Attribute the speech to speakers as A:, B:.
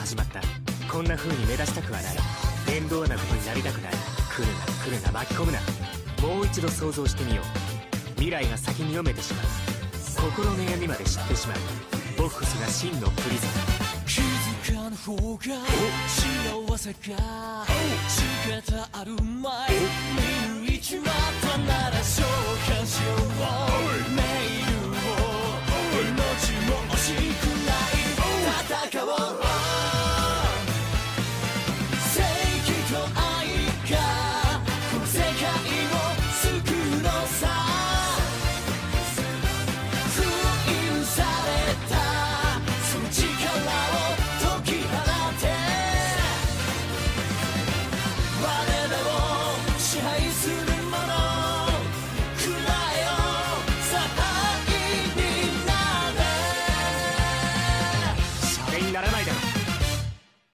A: 始まった。こんな風に目立ちたくはない。面倒なことになりたくない。来るな巻き込むな。もう一度想像してみよう。未来が先に読めてしまう。心の悩みまで知ってしまう。ボックスが真のプリズム。
B: 気づかぬ方が幸せか。仕方あるまい見抜いちまったなら召喚しよう。